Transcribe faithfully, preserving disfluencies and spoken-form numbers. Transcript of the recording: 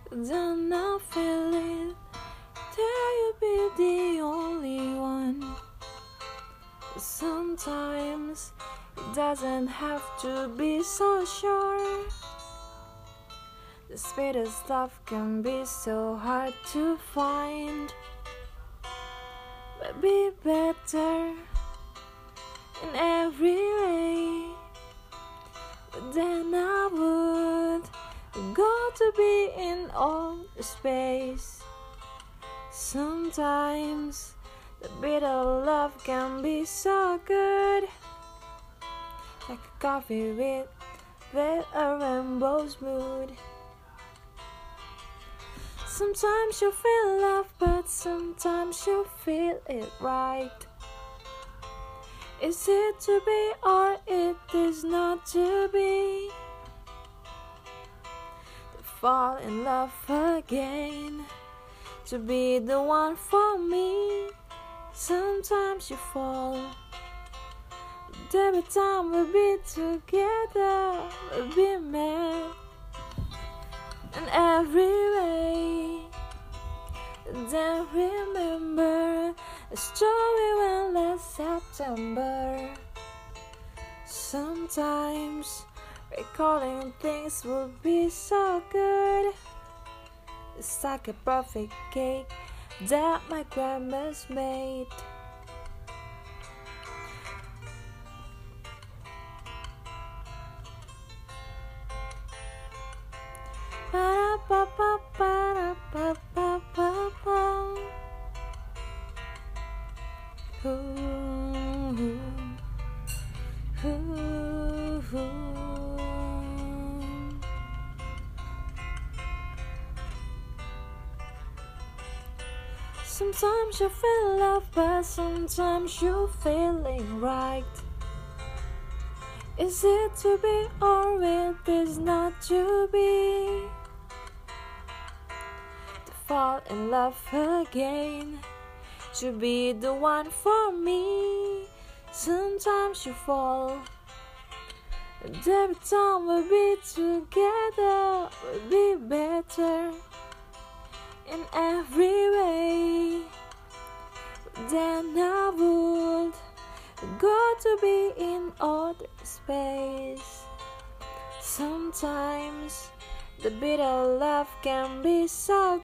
Then I feel it. Dare you be the only one? Sometimes it doesn't have to be so sure. The sweetest stuff can be so hard to find. But be better in every way. But then I would go to be in all space. Sometimes the bitter love can be so good, like a coffee with, with a rainbow's mood. Sometimes you feel love, but sometimes you feel it right. Is it to be or it is not to be? To fall in love again, to be the one for me. Sometimes you fall, but every time we'll be together, we'll be mad in every way. Then remember a story when last September. Sometimes recalling things would be so good. It's like a perfect cake that my grandma's made. Ba-da-ba-ba-ba-da-ba-ba-ba-ba. Ooh, ooh, ooh. Sometimes you feel love, but sometimes you're feeling right. Is it to be or it is not to be? To fall in love again, to be the one for me. Sometimes you fall, and every time we'll be together, we'll be better in every way. Then I would go to be in other space. Sometimes the bitter love can be so